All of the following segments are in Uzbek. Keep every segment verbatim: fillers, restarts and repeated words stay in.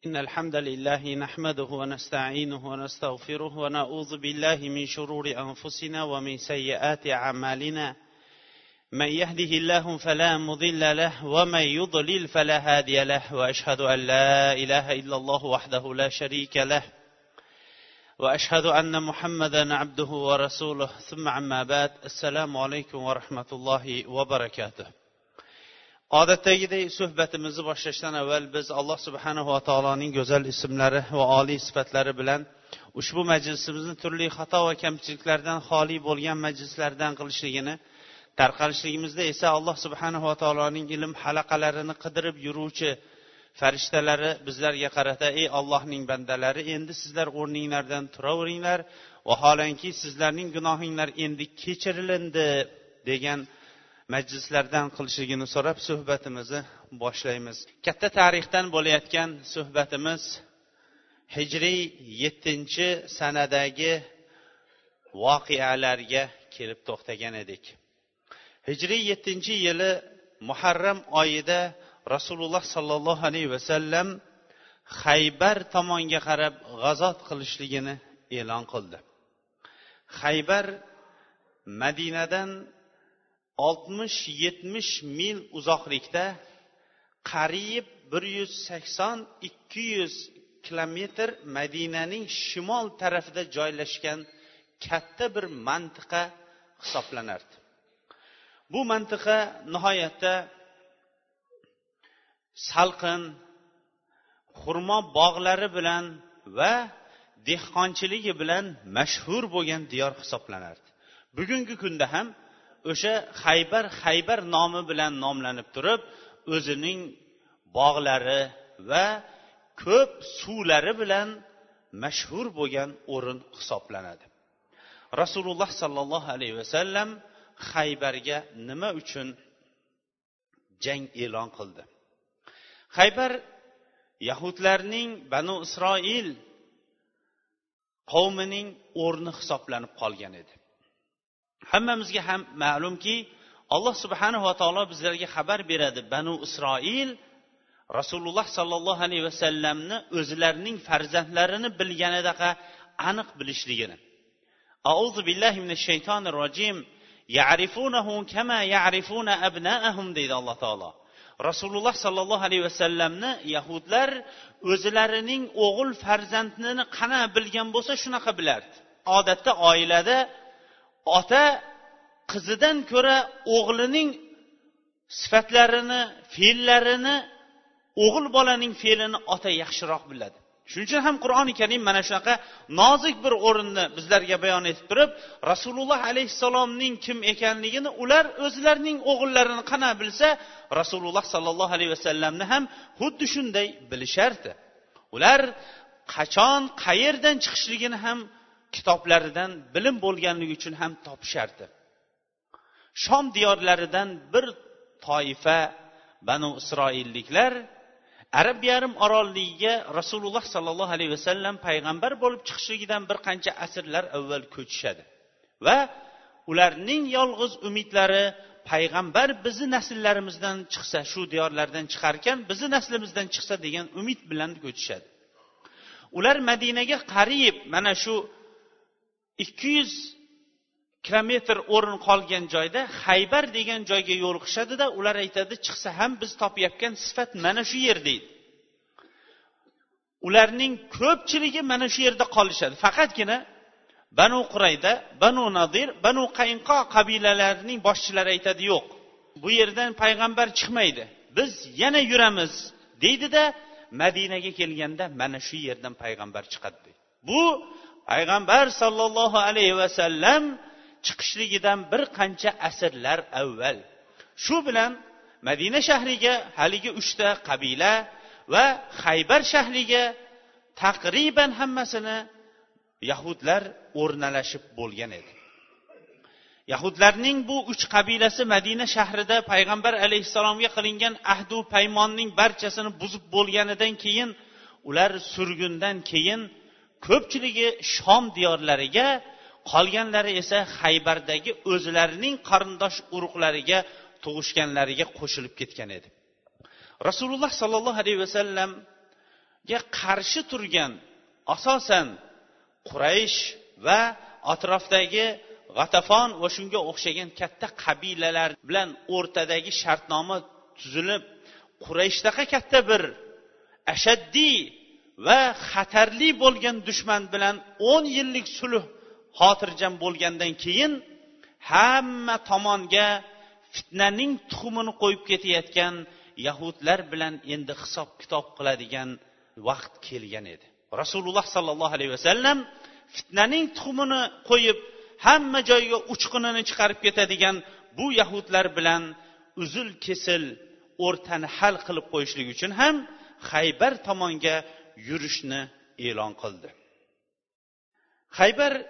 إن الحمد لله نحمده ونستعينه ونستغفره ونعوذ بالله من شرور أنفسنا ومن سيئات أعمالنا من يهده الله فلا مضل له ومن يضلل فلا هادي له وأشهد أن لا إله إلا الله وحده لا شريك له وأشهد أن محمدا عبده ورسوله ثم عما بعد السلام عليكم ورحمة الله وبركاته. Odatdagidek suhbatimizni boshlashdan avval biz Alloh subhanahu va taoloning go'zal ismlari va oliy sifatlari bilan ushbu majlisimizni turli xato va kamchiliklardan xoli bo'lgan majlislardan qilishligini, tarqalishligimizda esa Alloh subhanahu va taoloning ilm halaqalarini qidirib yuruvchi farishtalari bizlarga qarata: "Ey Allohning bandalari, endi sizlar o'rninglardan turaveringlar, vaholanki sizlarning gunohinglar endi kechirilindi" degan majlislardan qilishligini so'rab suhbatimizni boshlaymiz. Katta tarixdan bo'layotgan suhbatimiz Hijriy yettinchi sanadagi voqealarga kelib to'xtagan edik. Hijriy yettinchi yili Muharram oyida Rasululloh sallallohu alayhi va sallam Xaybar tomonga qarab g'azot qilishligini e'lon qildi. Xaybar Madinadan oltmish yetmish mil uzoqlikda, qariyb bir yuz sakson ikki yuz kilometr Madinaning shimol tarafida joylashgan katta bir mantiqa hisoblanardi. Bu mantiqa nihoyatda salqin, xurmo bog'lari bilan va dehqonchiligi bilan mashhur bo'lgan diyor hisoblanardi. Bugungi kunda ham o'sha Xaybar Xaybar nomi bilan nomlanib turib, o'zining bog'lari va ko'p suvlari bilan mashhur bo'lgan o'rin hisoblanadi. Rasululloh sallallohu alayhi va sallam Xaybarga nima uchun jang e'lon qildi? Xaybar Yahudlarning Banu Isroil qavmining o'rni hisoblanib qolgan edi. Hammamizga ham ma'lumki, Alloh subhanahu va taolo bizlarga xabar beradi: Banu Isroil Rasululloh sallallohu alayhi va sallamni o'zlarining farzandlarini bilganidaqa aniq bilishligini. A'udhu billahi minash shaytonir rojim. Ya'rifunahu kama ya'rifuna abna'ahum deydi Alloh taolo. Rasululloh sallallohu alayhi va sallamni yahudlar o'zlarining o'g'il farzandini qana bilgan bo'lsa shunaqa bilardi. Odatda oilada ota qizidan ko'ra o'g'lining sifatlarini, fe'llarini, o'g'il bolaning fe'lini ota yaxshiroq biladi. Shuning uchun ham Qur'oni Karim mana shunaqa nozik bir o'rinni bizlarga bayon etib turib, Rasululloh alayhissalomning kim ekanligini ular o'zlarining o'g'illarini qana bilsa, Rasululloh sallallohu alayhi vasallamni ham xuddi shunday bilishardi. Ular qachon, qayerdan chiqishligini ham kitoblaridan bilim bo'lganligi uchun ham topishardi. Shom diyorlaridan bir toifa Banu Isroilliklar Arab yarim orolligiga Rasululloh sallallohu alayhi vasallam payg'ambar bo'lib chiqishligidan bir qancha asrlar avval ko'chishadi va ularning yolg'iz umidlari payg'ambar bizni nasllarimizdan chiqsa, shu diyorlardan chiqarkan bizni naslimizdan chiqsa degan umid bilan ko'chishadi. Ular Madinaga qariyb mana shu ikki yuz kilometr o'rin qolgan joyda Xaybar degan joyga yo'liqishadi-da, ular aytadi: "Chiqsa ham biz topayotgan sifat mana shu yer" deydi. Ularning ko'pchiligi mana shu yerda qolishadi. Faqatgina Banu Qurayda, Banu Nadir, Banu Qaynqo qabilalarining boshchilari aytadi: "Yo'q, bu yerdan payg'ambar chiqmaydi. Biz yana yuramiz" deydi-da, Madinaga kelganda mana shu yerdan payg'ambar chiqadi deydi. Bu payg'ambar sallallohu alayhi va sallam chiqishligidan bir qancha asrlar avval. Shu bilan Madina shahriga haligi uchta qabila va Xaybar shahriga taqriban hammasini yahudlar o'rnalashib bo'lgan edi. Yahudlarning bu uch qabilasi Madina shahrida payg'ambar alayhisalomga qilingan ahdu paymonning barchasini buzib bo'lganidan keyin, ular surgundan keyin ko'pchiligi Shom diyorlariga, qolganlari esa Xaybardagi o'zlarining qarindosh urug'lariga, tug'ishganlariga qo'shilib ketgan edi. Rasululloh sallallohu alayhi vasallam qarshi turgan asosan Quraysh va atrofdagi G'atafon va shunga o'xshagan katta qabilalar bilan o'rtadagi shartnoma tuzilib, Qurayshdaqa katta bir ashaddiy va xatarli bo'lgan dushman bilan o'n yillik sulh xotirjam bo'lgandan keyin hamma tomonga fitnaning tuxumini qo'yib ketayotgan yahudlar bilan endi hisob kitob qiladigan vaqt kelgan edi. Rasululloh sallallohu alayhi vasallam fitnaning tuxumini qo'yib hamma joyga uchqunini chiqarib ketadigan bu yahudlar bilan uzul kesil o'rtani hal qilib qo'yishlik uchun ham Xaybar tomonga yurishni e'lon qildi. Xaybar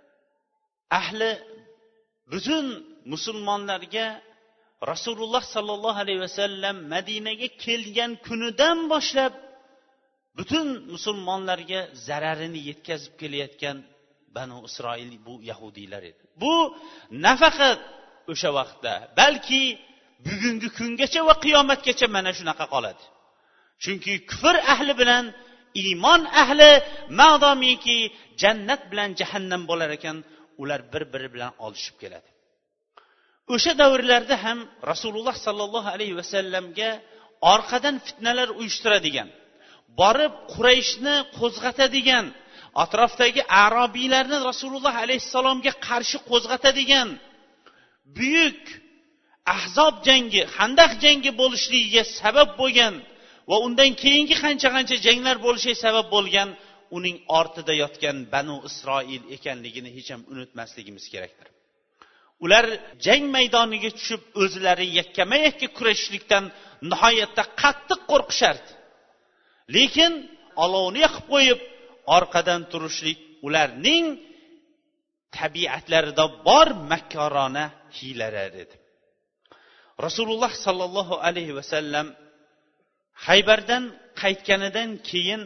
ahli butun musulmonlarga Rasululloh sallallohu alayhi vasallam Madinaga kelgan kunidan boshlab butun musulmonlarga zararini yetkazib kelayotgan Banu Isroil bu yahudiylar edi. Bu nafaqat o'sha vaqtda, balki bugungi kungacha va qiyomatgacha mana shunaqa qoladi. Chunki kufr ahli bilan iymon ahli madomiki jannat bilan jahannam bo'lar ekan, ular bir-biri bilan olishib keladi. O'sha davrlarda ham Rasululloh sallallohu alayhi vasallamga orqadan fitnalar uyushtiradigan, borib Qurayshni qo'zg'atadigan, atrofdagi arabiylarni Rasululloh alayhissalomga qarshi qo'zg'atadigan buyuk Ahzob jangi, Xandaq jangi bo'lishligiga sabab bo'lgan va undan keyingi qancha-qancha janglar bo'lishiga sabab bo'lgan uning ortida yotgan Banu Isroil ekanligini hech ham unutmasligimiz kerakdir. Ular jang maydoniga tushib o'zlari yakkama-yakka kurashishlikdan nihoyatda qattiq qo'rqishardi. Lekin olovni yoqib qo'yib orqadan turishlik ularning tabiatlarida bor makkorona hiylalar edi. Rasululloh sallallohu alayhi vasallam Xaybardan qaytganidan keyin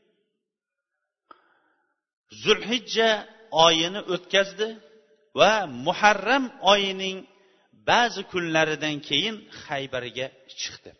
Zulhijja oyini o'tkazdi va Muharram oyining ba'zi kunlaridan keyin Xaybarga chiqdi.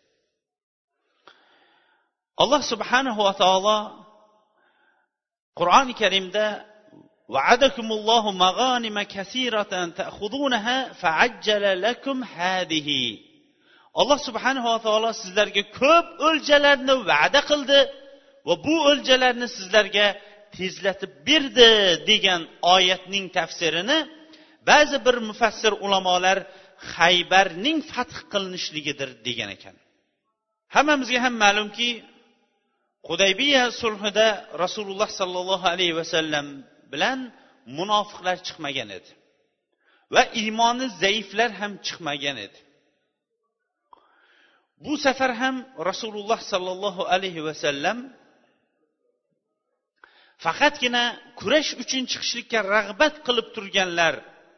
Alloh subhanahu va taolo Qur'oni Karimda va'adakumullohu mag'anima kaseeratan ta'khudunaha fa'ajjala lakum hadihi. Alloh subhanahu va taolo sizlarga ko'p o'ljalarni va'da qildi va bu o'ljalarni sizlarga tezlatib berdi degan oyatning tafsirini ba'zi bir mufassir ulamolar Xaybarning fath qilinishligidir degan ekan. Hammamizga ham ma'lumki, Hudaybiya sulhida Rasululloh sallallohu alayhi vasallam bilan munofiqlar chiqmagan edi va iymoni zaiflar ham chiqmagan edi. Bu safar ham Rasululloh sallallohu alayhi vasallam faqatgina kurash uchun chiqishlikka rag'bat qilib turganlar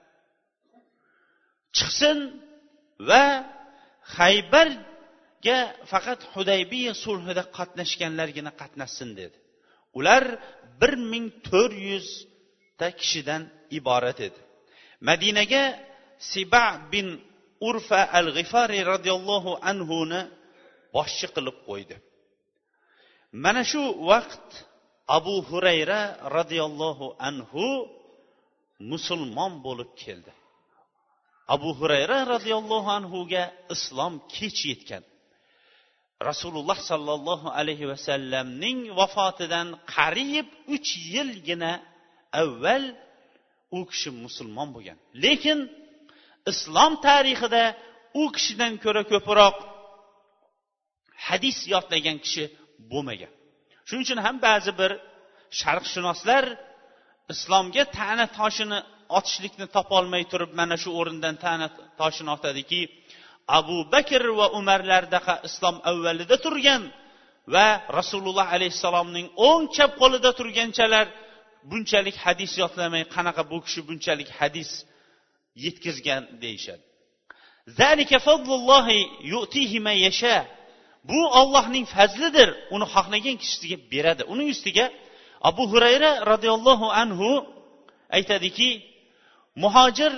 chiqsin va Xaybarga faqat Hudaybiya sulhida qatnashganlargina qatnashsin dedi. Ular bir ming to'rt yuz ta kishidan iborat edi. Madinaga Siba bin Urfa al-Ghifari radhiyallohu anhu ni boshchi qilib qo'ydi. Mana shu vaqt Abu Hurayra radhiyallohu anhu musulmon bo'lib keldi. Abu Hurayra radhiyallohu anhu ga islom kech yetgan. Rasululloh sallallohu alayhi vasallamning vafotidan qariyb uch yilgina avval u kishi musulmon bo'lgan. Lekin islom tarixida u kishidan ko'ra ko'proq hadis yodlagan kishi bo'lmagan. Shuning uchun ham ba'zi bir sharqshunoslar islomga ta'na toshini otishlikni topolmay turib mana shu o'rindan ta'na toshini otadiki, Abu Bakr va Umarlardaqa islom avvalida turgan va Rasululloh alayhisalomning o'ng chap qo'lida turganchalar bunchalik hadis yodlamay qanaqa bu kishi bunchalik hadis yetkazgan deyshadi. Zalika fadlullohi yu'tihi man yasha. Bu Allohning fazlidir, uni xohlagan kishisiga beradi. Uning ustiga Abu Hurayra radhiyallohu anhu aytadiki, muhojir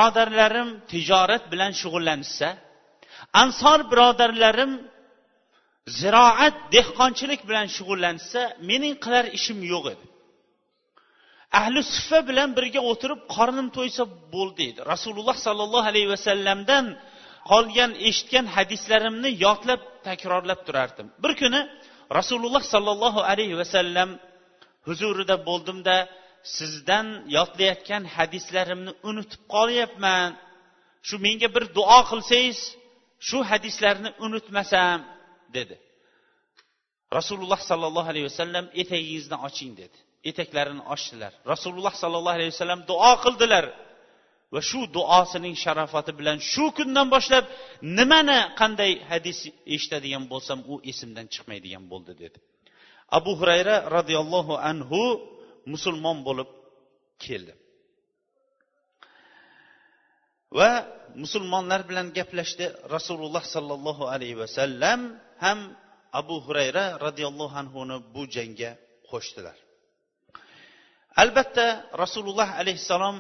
birodarlarim tijorat bilan shug'ullansa, ansor birodarlarim ziroat, dehqonchilik bilan shug'ullansa, mening qilar ishim yo'q edi. Ahli suffa bilan birga o'tirib qornim to'ysa bo'ldi edi. Rasululloh sallallohu alayhi vasallamdan qolgan eshitgan hadislarimni yodlab takrorlab turardim. Bir kuni Rasululloh sallallohu alayhi vasallam huzurida bo'ldimda, sizdan yodlayotgan hadislarimni unutib qolyapman. Shu menga bir duo qilsangiz, shu hadislarni unutmasam dedi. Rasululloh sallallohu alayhi vasallam etagingizni oching dedi. Etaklarini ochdilar. Rasululloh sallallohu alayhi vasallam duo qildilar. Va shu duosining sharofati bilan shu kundan boshlab nimani qanday hadis eshitadigan bo'lsam, u esimdan chiqmaydigan bo'ldi dedi. Abu Hurayra radhiyallohu anhu musulmon bo'lib keldi. Va musulmonlar bilan gaplashdi. Rasululloh sallallohu alayhi vasallam ham Abu Hurayra radhiyallohu anhuni bu jangga qo'shdilar. Albatta Rasululloh alayhisalom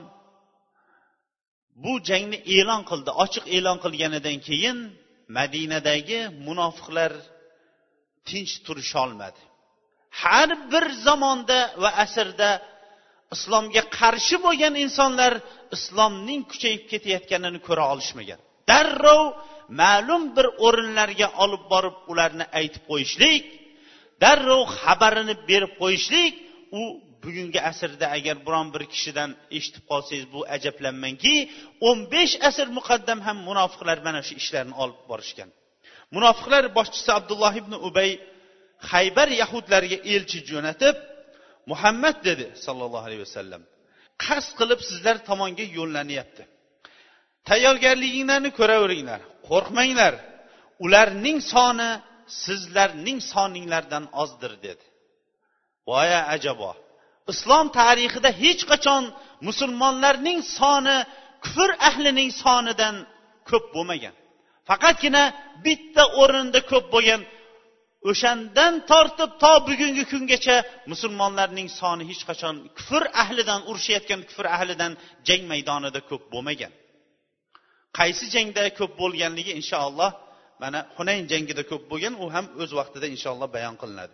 bu jangni e'lon qildi. Ochiq e'lon qilganidan keyin Madinadagi munofiqlar tinch turisha olmadi. Har bir zamonda va asrda islomga qarshi bo'lgan insonlar islomning kuchayib ketayotganini ko'ra olishmagan. Darrov ma'lum bir o'rinlarga olib borib ularni aytib qo'yishlik, darrov xabarini berib qo'yishlik, u bugungi asrda agar biron bir kishidan eshitib qolsangiz, bu ajablanmangki, o'n besh asr muqaddam ham munofiqlar mana shu ishlarni olib borishgan. Munofiqlar boshchisi Abdulloh ibn Ubay Xaybar yahudlariga elchi jo'natib, Muhammad dedi sallallohu alayhi vasallam, qasd qilib sizlar tomonga yo'llanyapti. Tayyorgarliginglarni ko'raveringlar, qo'rqmanglar. Ularning soni sizlarning soninglardan ozdir dedi. Voya ajabo. Islom tarixida hech qachon musulmonlarning soni kufr ahlining sonidan ko'p bo'lmagan. Faqatgina bitta o'rinda ko'p bo'lgan. O'shandan tortib to bugungi kungacha musulmonlarning soni hech qachon kufr ahlidan, urushayotgan kufr ahlidan jang maydonida ko'p bo'lmagan. Qaysi jangda ko'p bo'lganligi inshaalloh mana Hunayn jangida ko'p bo'lgan, u ham o'z vaqtida inshaalloh bayon qilinadi.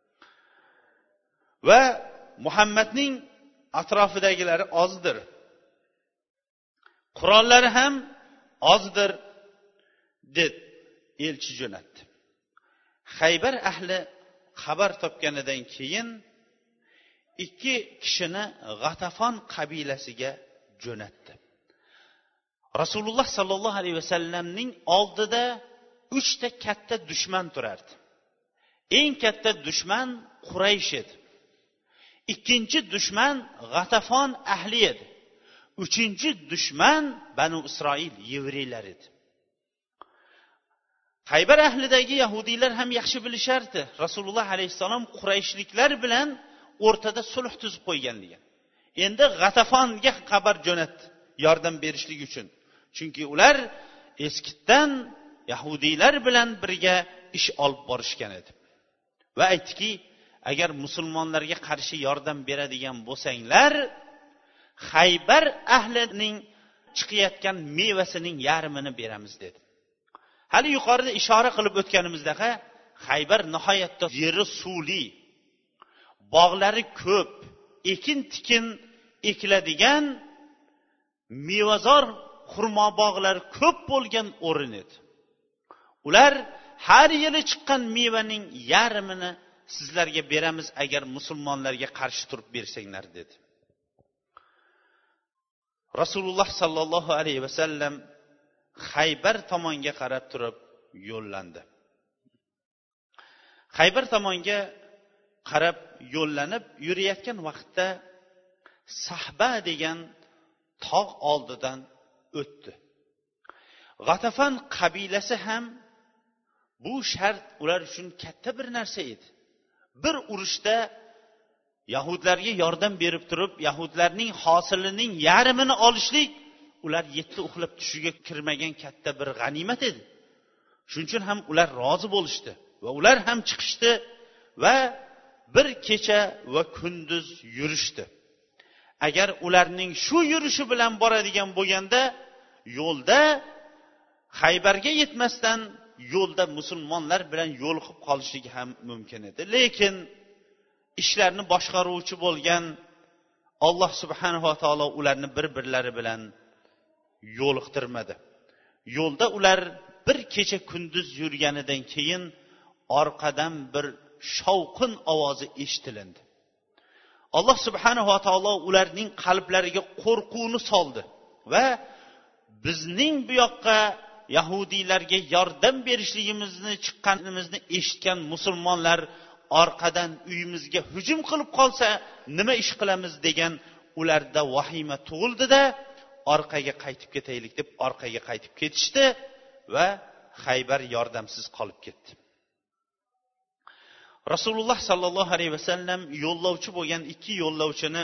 Va Muhammadning atrofidagilari ozdir. Qurollari ham ozdir deb elchi jo'natdi. Xaybar ahli xabar topganidan keyin ikki kishini G'atafon qabilasiga jo'natdi. Rasululloh sallallohu alayhi vasallamning oldida uchta katta dushman turardi. Eng katta dushman Quraysh edi. Ikkinchi dushman G'atafon ahli edi. Uchinchi dushman Banu Isroil yevreylar edi. Xaybar ahlidagi yahudiylar ham yaxshi bilishardi. Rasululloh alayhisalom Qurayshliklar bilan o'rtada sulh tuzib qo'yganligini. Endi G'atafonga xabar jo'natdi yordam berishlik uchun. Chunki ular eskitdan yahudiylar bilan birga ish olib borishgan edi. Va aytdiki, agar musulmonlarga qarshi yordam beradigan bo'lsanglar, Xaybar ahlining chiqayotgan mevasining yarmini beramiz dedi. Hali yuqorida ishora qilib o'tganimizda Xaybar nihoyatda yeri suvli, bog'lari ko'p, ekin-tikin ekiladigan mevazor xurmo bog'lari ko'p bo'lgan o'rin edi. Ular har yili chiqqan mevaning yarmini sizlarga beramiz agar musulmonlarga qarshi turib bersanglar dedi. Rasululloh sallallohu alayhi vasallam Xaybar tomonga qarab turib yo'llandi. Xaybar tomonga qarab yo'llanib yurayotgan vaqtda Sahba degan tog' oldidan o'tdi. G'atafon qabilasi ham bu shart ular uchun katta bir narsa edi. Bir urushda yahudlarga yordam berib turib, yahudlarning hosilining yarmini olishlik ular yetti uxlab tushiga kirmagan katta bir g'animat edi. Shuning uchun ham ular rozi bo'lishdi va ular ham chiqishdi va bir kecha va kunduz yurishdi. Agar ularning shu yurishi bilan boradigan bo'lganda, yo'lda Xaybarga yetmasdan yo'lda musulmonlar bilan yo'liqib qolishligi ham mumkin edi. Lekin ishlarni boshqaruvchi bo'lgan Alloh subhanahu va taolo ularni bir-birlari bilan yo'liqtirmadi. Yo'lda ular bir kecha kunduz yurganidan keyin orqadan bir shovqin ovozi eshitildi. Alloh subhanahu va taolo ularning qalblariga qo'rquvni soldi va bizning bu yoqqa yahudiylarga yordam berishligimizni chiqqanimizni eshitgan musulmonlar orqadan uyimizga hujum qilib qolsa nima ish qilamiz degan ularda vahima tug'ildi-da, orqaga qaytib ketaylik deb orqaga qaytib ketishdi va Xaybar yordamsiz qolib ketdi. Rasululloh sallallohu alayhi vasallam yo'llovchi bo'lgan ikki yo'llovchini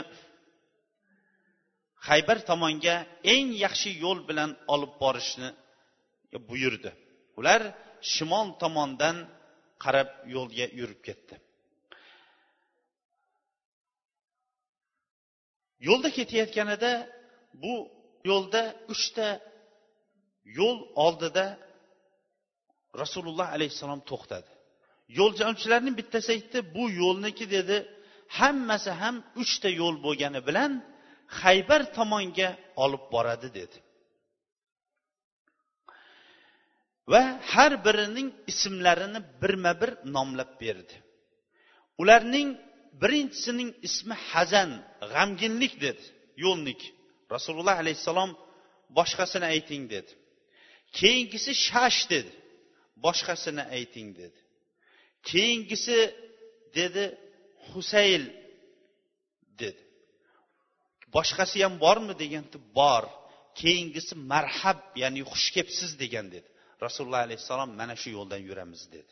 Xaybar tomonga eng yaxshi yo'l bilan olib borishni buyurdi. Ular shimol tomondan qarab yo'lga yurib ketdi. Yo'lda ketayotganida bu yo'lda uchta yo'l oldida Rasululloh alayhisalom to'xtadi. Yo'lchilarning bittasi aytdi, bu yo'lniki dedi, hammasi ham uchta yo'l bo'lgani bilan Xaybar tomonga olib boradi dedi. Va har birining ismlarini birma-bir nomlab berdi. Ularning birinchisining ismi Hazan, g'amginlik dedi, yo'lnik. Rasululloh alayhisalom boshqasini ayting dedi. Keyingisi Shash dedi, boshqasini ayting dedi. Keyingisi dedi Husayl dedi. Boshqasi ham bormi deganda bor. Keyingisi Marhab, ya'ni xush kelibsiz degan dedi. Rasululloh alayhisalom mana shu yo'ldan yuramiz dedi.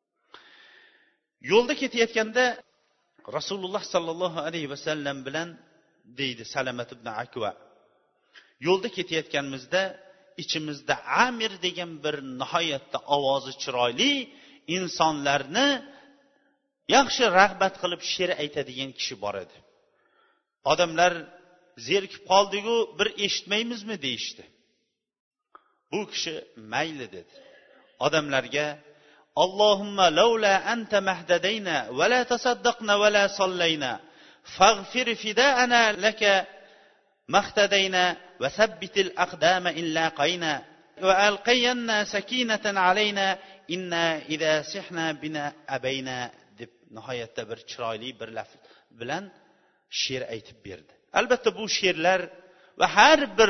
Yo'lda ketayotganda Rasululloh sallallohu alayhi vasallam bilan deydi Salamat ibn Akva. Yo'lda ketayotganimizda ichimizda Amir degan bir nihoyatda ovozi chiroyli insonlarni yaxshi rag'bat qilib she'r aytadigan kishi bor edi. Odamlar zerikib qoldigu bir eshitmaymizmi deyishdi. Bu kishi mayli dedi. Odamlarga Allohumma laula anta mahdadayna va la tasaddaqna va la sallayna faghfir fida'ana laka mahtadayna va sabbitil aqdama in laqayna va alqayanna sakinatan alayna inna idha sihna bina abayna deb nihoyatda bir chiroyli bir laf bilan she'r aytib berdi. Albatta bu she'rlar va har bir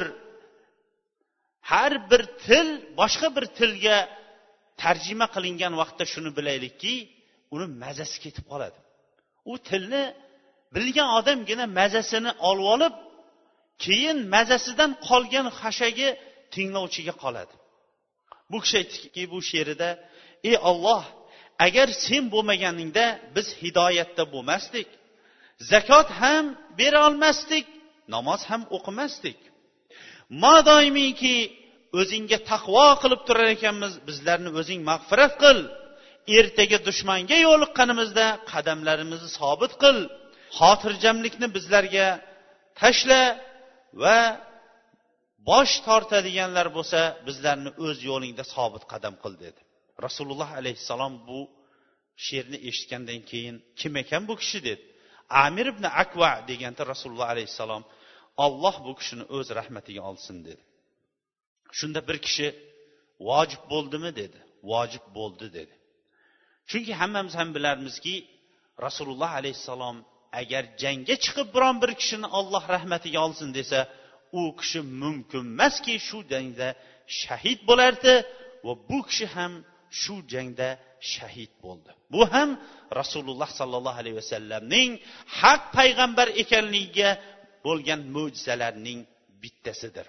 har bir til boshqa bir tilga tarjima qilingan vaqtda shuni bilaylikki, uni mazasi ketib qoladi. U tilni bilgan odamgina mazasini olib olib, keyin mazasidan qolgan xashagi tinglovchiga qoladi. Bu kishi aytdiki bu she'rida, ey Alloh, agar sen bo'lmaganingda biz hidoyatda bo'lmasdik, zakot ham bera olmasdik, namoz ham o'qimasdik. Madoimiki o'zingga taqvo qilib turar ekanmiz, bizlarni o'zing mag'firat qil. Ertaga dushmanga yo'liqqanimizda qadamlarimizni sobit qil. Xotirjamlikni bizlarga tashla va bosh tortadiganlar bo'lsa, bizlarni o'z yo'lingda sobit qadam qil dedi. Rasululloh alayhisalom bu she'rni eshitgandan keyin kim ekan bu kishi dedi. Amir ibn Akva deganda Rasululloh alayhisalom Alloh bu kishini o'z rahmatiga olsin dedi. Shunda bir kishi vojib bo'ldimi dedi. Vojib bo'ldi dedi. Chunki hammamiz ham bilamizki, Rasululloh alayhisalom agar jangga chiqib biron bir kishini Alloh rahmatiga olsin desa, u kishi mumkin emaski shu jangda shahid bo'lardi va bu kishi ham shu jangda shahid bo'ldi. Bu ham Rasululloh sallallohu alayhi vasallamning haq payg'ambar ekanligiga bo'lgan mo'jizalarning bittasidir.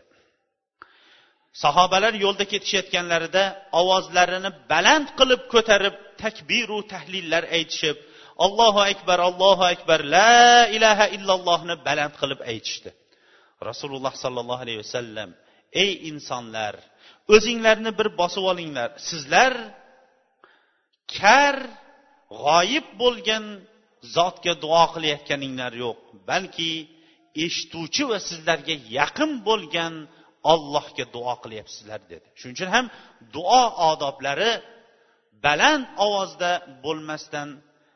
Sahobalar yo'lda ketishayotganlarida ovozlarini baland qilib ko'tarib takbir va tahlillar aytishib, Allohu akbar, Allohu akbar, la ilaha illallohni baland qilib aytishdi. Rasululloh sallallohu alayhi vasallam, ey insonlar, o'zinglarni bir bosib olinglar. Sizlar kar, g'oyib bo'lgan zotga duo qilayotganinglar yo'q, balki eshituvchi va sizlarga yaqin bo'lgan Allohga duo qilyapsizlar dedi. Shuning uchun ham duo odoblari baland ovozda bo'lmasdan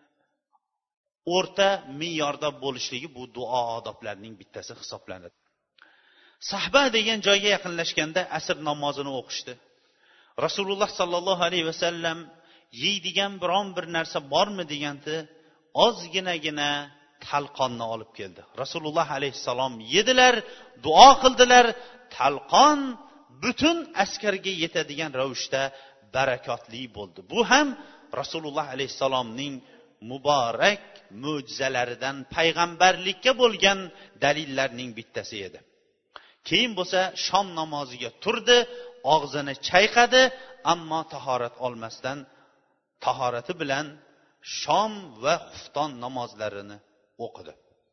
o'rta me'yorda bo'lishligi bu duo odoblarining bittasi hisoblanadi. Sahba degan joyga yaqinlashganda asr namozini o'qishdi. Rasululloh sallallohu alayhi vasallam yeydigan biron bir narsa bormi deganda ozginagina talqonni olib keldi. Rasululloh alayhissalom yedilar, duo qildilar. Talqon butun askarga yetadigan ravishda barakotli bo'ldi. Bu ham Rasululloh alayhissalomning muborak mo'jizalaridan payg'ambarlikka bo'lgan dalillarning bittasi edi. Keyin bo'lsa shom namoziga turdi, og'zini chayqadi, ammo tahorat olmasdan tahorati bilan shom va xufton namozlarini o'qidi.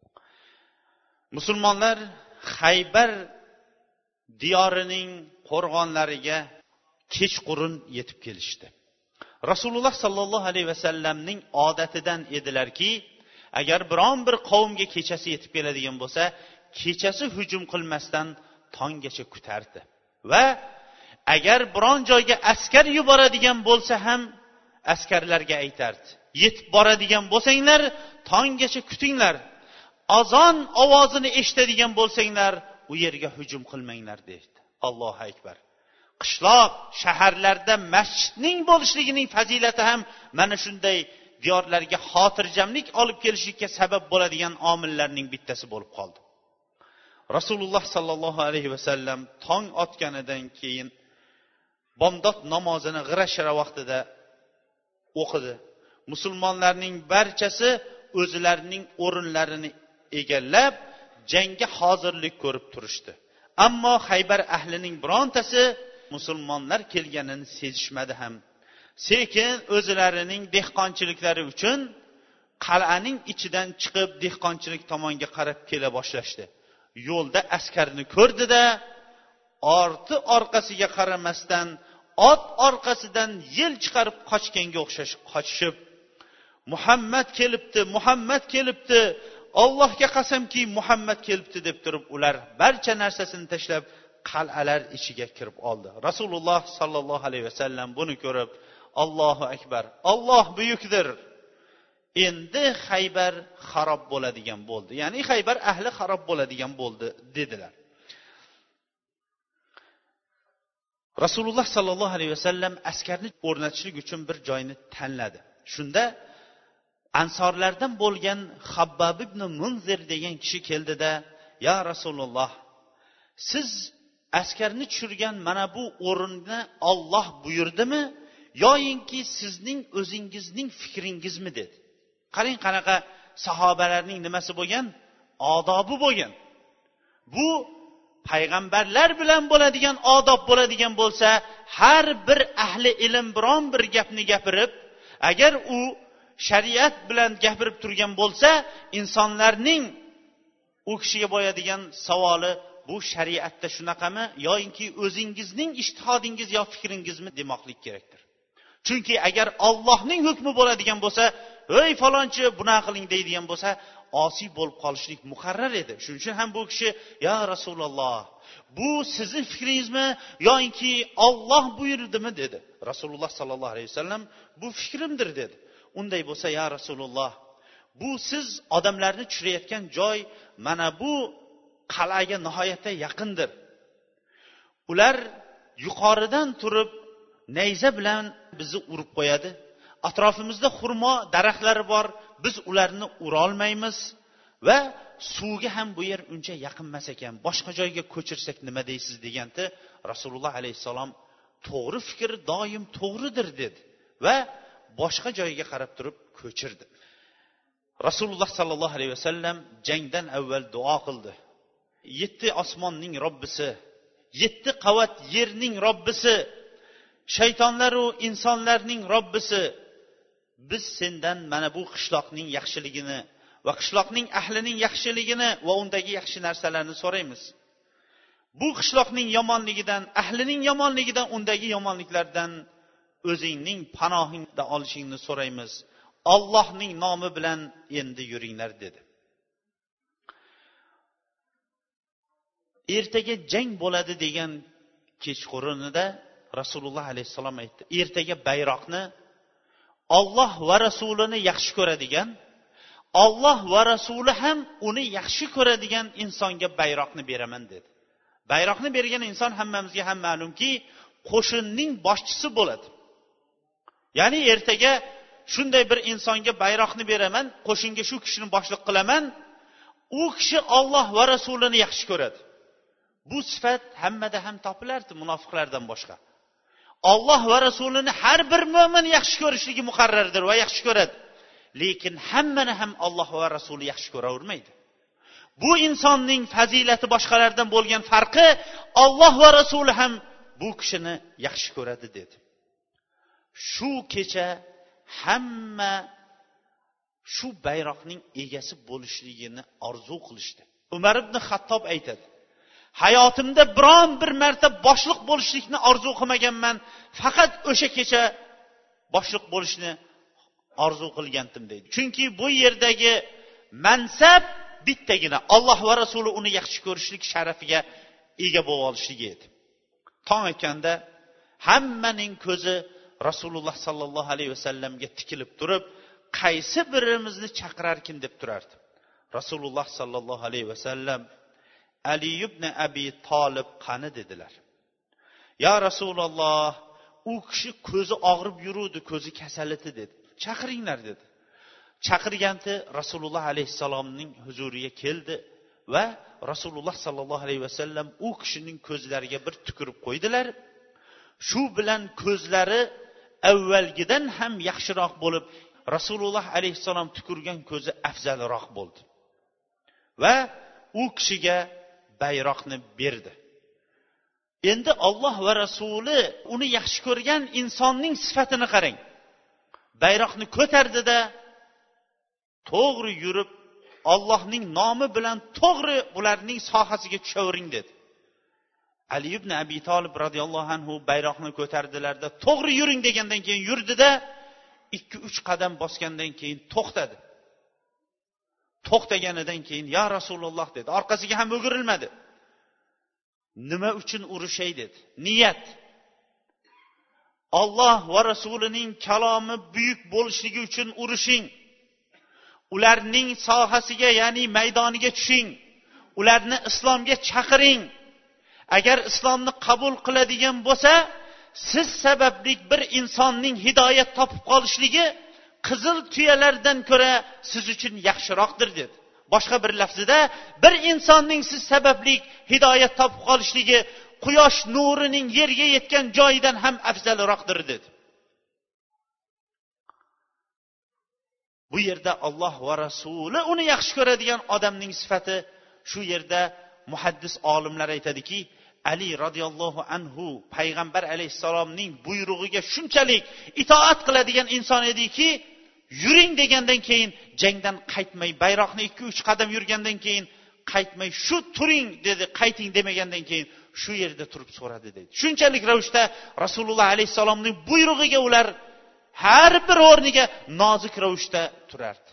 Musulmonlar Xaybar diyorining qo'rg'onlariga kechqurun yetib kelishdi. Rasululloh sallallohu alayhi vasallamning odatidan edilarki, agar biron bir qavmga kechasi yetib keladigan bo'lsa, kechasi hujum qilmasdan tonggacha kutardi. Va agar biron joyga askar yuboradigan bo'lsa ham askarlarga aytardi: yetib boradigan bo'lsanglar, tonggacha kutinglar. Azon ovozini eshitadigan bo'lsanglar, u yerga hujum qilmanglar dedi. Allohu akbar. Qishloq, shaharlarda masjidning bo'lishligining fazilati ham mana shunday diyorlarga xotirjamlik olib kelishlikka sabab bo'ladigan omillarning bittasi bo'lib qoldi. Rasululloh sallallohu alayhi vasallam tong otganidan keyin bomdod namozini g'ira-shira vaqtida o'qidi. Musulmonlarning barchasi o'zlarining o'rinlarini egallab, jangga hozirlik ko'rib turishdi. Ammo Xaybar ahlining birontasi musulmonlar kelganini sezishmadi ham. Sekin o'zlarining dehqonchiliklari uchun qal'aning ichidan chiqib dehqonchilik tomonga qarab kela boshlashdi. Yo'lda askarni ko'rdi-da, orti orqasiga qaramasdan ot orqasidan yel chiqarib qochganga o'xshash qochishib, Muhammad kelibdi, Muhammad kelibdi, Allohga qasamki Muhammad kelibdi deb turib, ular barcha narsasini tashlab qal'alar ichiga kirib oldi. Rasululloh sallallohu alayhi vasallam buni ko'rib, Allohu akbar, Alloh buyukdir. Endi Xaybar xarob bo'ladigan bo'ldi. Ya'ni Xaybar ahli xarob bo'ladigan bo'ldi dedilar. Rasululloh sallallohu alayhi vasallam askarni o'rnatishlik uchun bir joyni tanladi. Shunda ansorlardan bo'lgan Habbab ibn Munzir degan kishi keldida, "Ya Rasululloh, siz askarni tushirgan mana bu o'rinni Alloh buyurdimi yoyinki sizning o'zingizning fikringizmi?" dedi. Qarang qanaqa sahobalarning nimasi bo'lgan? Odobi bo'lgan. Bu payg'ambarlar bilan bo'ladigan odob bo'ladigan bo'lsa, har bir ahli ilm biron bir gapni gapirib, agar u shariat bilan gapirib turgan bo'lsa, insonlarning u kishiga qo'yadigan savoli, bu shariatda shunaqami yoki o'zingizning ijtihodingiz yo fikringizmi demoqlik kerakdir. Chunki agar Allohning hukmi bo'ladigan bo'lsa, "Ey falonchi, bunaqa qiling" deydigan bo'lsa, osiy bo'lib qolishlik muqarrar edi. Shuning uchun ham bu kishi, "Ya Rasululloh, bu sizning fikringizmi yoki Alloh buyurdimi?" dedi. Rasululloh sallallohu alayhi vasallam, "Bu fikrimdir" dedi. Unday bo'lsa, "Ya Rasululloh, bu siz odamlarni tushirayotgan joy mana bu qal'aga nihoyatda yaqindir. Ular yuqoridan turib nayza bilan bizni urib qo'yadi. Atrofimizda xurmo daraxtlari bor, biz ularni ura olmaymiz va suvga ham bu yer uncha yaqin emas ekan. Boshqa joyga ko'chirsak nima deysiz?" deganda Rasululloh alayhisalom, "To'g'ri fikr doim to'g'ridir" dedi va boshqa joyga qarab turib ko'chirdi. Rasululloh sallallohu alayhi vasallam jangdan avval duo qildi. Yetti osmonning Robbisi, yetti qavat yerning Robbisi, shaytonlar va insonlarning Robbisi, biz sendan mana bu qishloqning yaxshiligini va qishloqning ahlining yaxshiligini va undagi yaxshi narsalarni so'raymiz. Bu qishloqning yomonligidan, ahlining yomonligidan, undagi yomonliklardan o'zingning panohingda olishingni so'raymiz. Allohning nomi bilan endi yuringlar dedi. Ertaga jang bo'ladi degan kechqurunida Rasululloh alayhisalom aytdi. Ertaga bayroqni Alloh va rasulini yaxshi ko'radigan, Alloh va rasuli ham uni yaxshi ko'radigan insonga bayroqni beraman dedi. Bayroqni bergan inson hammamizga ham ma'lumki, qo'shinning boshchisi bo'ladi. Ya'ni ertaga shunday bir insonga bayroqni beraman, qo'shinga shu kishini boshliq qilaman, u kishi Alloh va rasulini yaxshi ko'radi. Bu sifat hammada ham topilardi, munofiqlardan boshqa. Alloh va rasulini har bir mo'min yaxshi ko'rishligi muqarrardir va yaxshi ko'radi. Lekin hammani ham Alloh va rasuli yaxshi ko'ravermaydi. Bu insonning fazilati boshqalardan bo'lgan farqi, Alloh va rasuli ham bu kishini yaxshi ko'radi dedi. Shu kecha hamma shu bayroqning egasi bo'lishligini orzu qilishdi. Umar ibn Xattob aytadi: hayotimda biron bir marta boshliq bo'lishlikni orzu qilmaganman, faqat o'sha kecha boshliq bo'lishni orzu qilgandim deydi. Chunki bu yerdagi mansab bittagina, Alloh va rasuli uni yaxshi ko'rishlik sharafiga ega bo'lib olishligi edi. Tong otganda hammaning ko'zi Rasululloh sallallohu alayhi vasallamga tikilib turib, qaysi birimizni chaqirarkin deb turardi. Rasululloh sallallohu alayhi vasallam Ali ibn Abi Talib qani dedilar. Ya Rasululloh, u kishi ko'zi og'rib yuruvdi, ko'zi kasal edi dedi. Chaqiringlar dedi. Chaqirganda Rasululloh alayhisalomning huzuriga keldi va Rasululloh sallallohu alayhi vasallam u kishining ko'zlariga bir tukirib qo'ydilar. Shu bilan ko'zlari avvalgidan ham yaxshiroq bo'lib, Rasululloh alayhisalom tukurgan ko'zi afzalroq bo'ldi. Va u kishiga bayroqni berdi. Endi Alloh va rasuli uni yaxshi ko'rgan insonning sifatini qarang. Bayroqni ko'tardida to'g'ri yurib, Allohning nomi bilan to'g'ri ularning sohasiga tushavering dedi. Ali ibn Abi Talib radhiyallohu anhu bayroqni ko'tardilarda to'g'ri yuring degandan keyin yurdida ikki uch qadam bosgandan keyin to'xtadi. To'xtaganidan keyin ya Rasululloh dedi. Orqasiga ham o'girilmadi. Nima uchun urushay dedi. Niyat. Alloh va rasulining kalomi buyuk bo'lishligi uchun urushing. Ularning sohasiga, ya'ni maydoniga tushing. Ularni islomga chaqiring. Agar islomni qabul qiladigan bo'lsa, siz sababli bir insonning hidoyat topib qolishligi qizil tuyalardan ko'ra siz uchun yaxshiroqdir dedi. Boshqa bir lafzida, bir insonning siz sababli hidoyat topib qolishligi quyosh nurining yerga yetgan joyidan ham afzalroqdir dedi. Bu yerda Alloh va rasuli uni yaxshi ko'radigan odamning sifati shu yerda muhaddis olimlar aytadiki, Ali radhiyallohu anhu payg'ambar alayhisalomning buyrug'iga shunchalik itoat qiladigan inson ediki, yuring degandan keyin jangdan qaytmay, bayroqni ikki uch qadam yurgandan keyin qaytmay, shu turing dedi, qayting demagandan keyin shu yerda turib so'radi dedi. Shunchalik ravishda Rasululloh alayhisalomning buyrug'iga ular har bir o'rniga nozik ravishda turardi.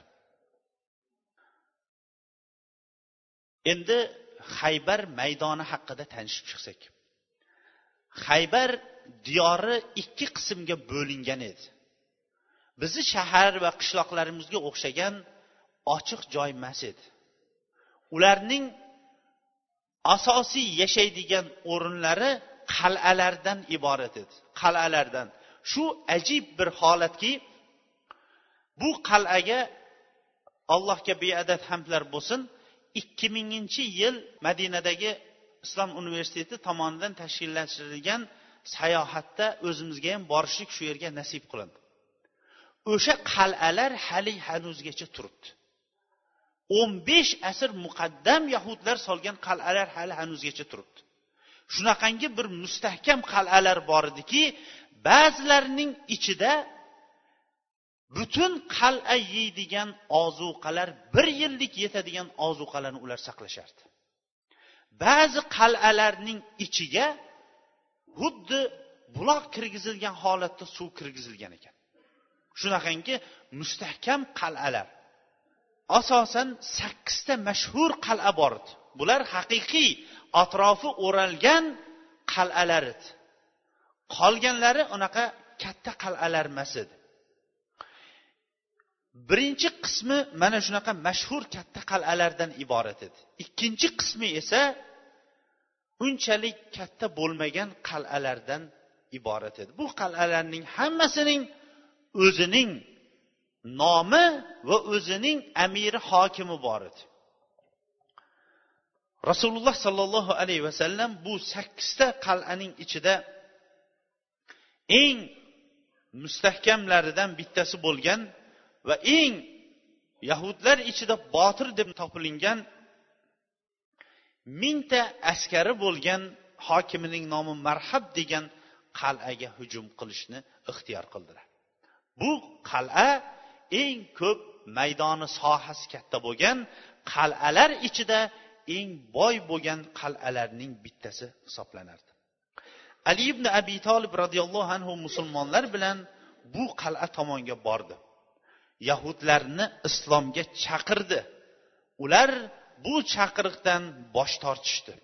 Endi Xaybar maydoni haqida tanishib chiqsak. Xaybar diyori ikki qismga bo'lingan edi. Bizi shahar va qishloqlarimizga o'xshagan ochiq joy emas edi. Ularning asosiy yashaydigan o'rinlari qal'alardan iborat edi. Qal'alardan. Shu ajib bir holatki, bu qal'aga Allohga beadad hamdlar bo'lsin, ikki minginchi yil Madinadagi Islom universiteti tomonidan tashkillashtirilgan sayohatda o'zimizga ham borishlik shu yerga nasib qilindi. O'sha qal'alar hali hanuzgacha turibdi. o'n besh asr muqaddam yahudlar solgan qal'alar hali hanuzgacha turibdi. Shunaqangi bir mustahkam qal'alar bor ediki, ba'zilarining ichida butun qal'a yeydigan ozuqalar, bir yillik yetadigan ozuqalarni ular saqlashardi. Ba'zi qal'alarning ichiga xuddi buloq kirgizilgan holatda suv kirgizilgan ekan. Shunaqangi mustahkam qal'alar. Asosan sakkizta mashhur qal'a bor edi. Bular haqiqiy atrofi o'ralgan qal'alar edi. Qolganlari unaqa katta qal'alar emas edi. birinchi qismi mana shunaqa mashhur katta qal'alardan iborat edi. Ikkinchi qismi esa unchalik katta bo'lmagan qal'alardan iborat edi. Bu qal'alarning hammasining o'zining nomi va o'zining amiri hokimi bor edi. Rasululloh sallallohu alayhi vasallam bu sakkizta qal'aning ichida eng mustahkamlaridan bittasi bo'lgan va eng yahudlar ichida botir deb topilingan mingta askari bo'lgan hokimining nomi Marhab degan qal'aga hujum qilishni ixtiyor qildilar. Bu qal'a eng ko'p maydoni sohasi katta bo'lgan qal'alar ichida eng boy bo'lgan qal'alarning bittasi hisoblanardi. Ali ibn Abi Talib radhiyallohu anhu musulmonlar bilan bu qal'a tomonga bordi. Yahudlarni islomga chaqirdi. Ular bu chaqiriqdan bosh tortishdi.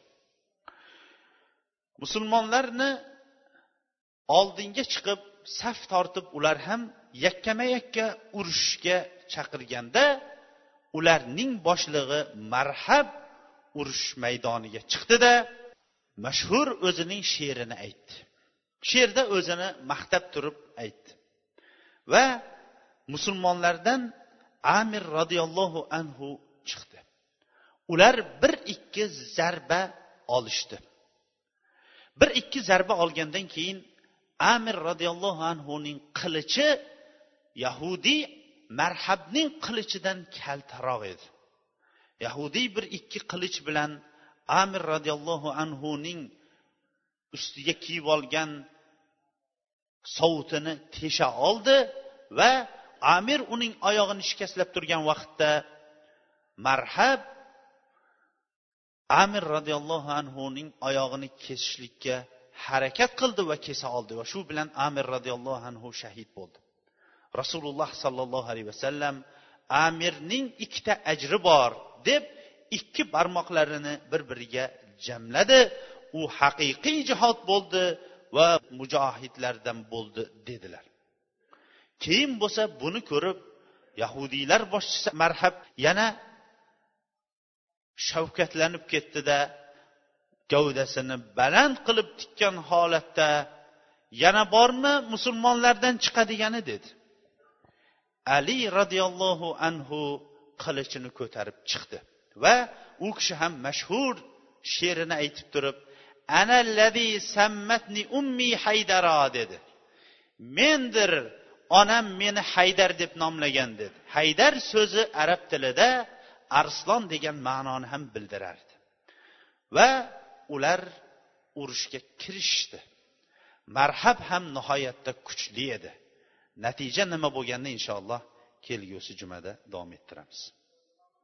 Musulmonlarni oldinga chiqib saf tortib ular ham yakkama-yakka urushga chaqirganda ularning boshlig'i Marhab urush maydoniga chiqdi-da mashhur o'zining she'rini aytdi. She'rda o'zini maqtab turib aytdi. Va musulmonlardan Amir radhiyallohu anhu chiqdi. Ular bir ikki zarba olishdi. Bir ikki zarba olgandan keyin Amir radhiyallohu anhu ning qilichi Yahudiy Marhabning qilichidan kaltaroq edi. Yahudiy bir ikki qilich bilan Amir radhiyallohu anhu ning ustiga kiyib olgan sovutini tesha oldi va Amir uning oyog'ini shikastlab turgan vaqtda Marhab Amir radhiyallohu anhu ning oyog'ini kesishlikka harakat qildi va kesa oldi va shu bilan Amir radhiyallohu anhu shahid bo'ldi. Rasululloh sallallohu alayhi vasallam Amirning ikkita ajri bor deb ikki barmoqlarini bir-biriga jamladi. U haqiqiy jihod bo'ldi va mujohidlardan bo'ldi dedilar. Keyin bo'lsa buni ko'rib Yahudiylar boshchisi Marhab yana shavkatlanib ketdi-da, gavdasini baland qilib tikkan holatda yana bormi musulmonlardan chiqadigani dedi. Ali radhiyallohu anhu qilichini ko'tarib chiqdi va u kishi ham mashhur she'rini aytib turib, ana allazi sammatni ummi Haydara dedi. Mendir onam meni Haydar deb nomlagan dedi. Haydar so'zi arab tilida arslon degan ma'noni ham bildirardi. Va ular urushga kirishdi. Marhab ham nihoyatda kuchli edi. Natija nima bo'lganini inshaalloh kelgusi jumada davom ettiramiz.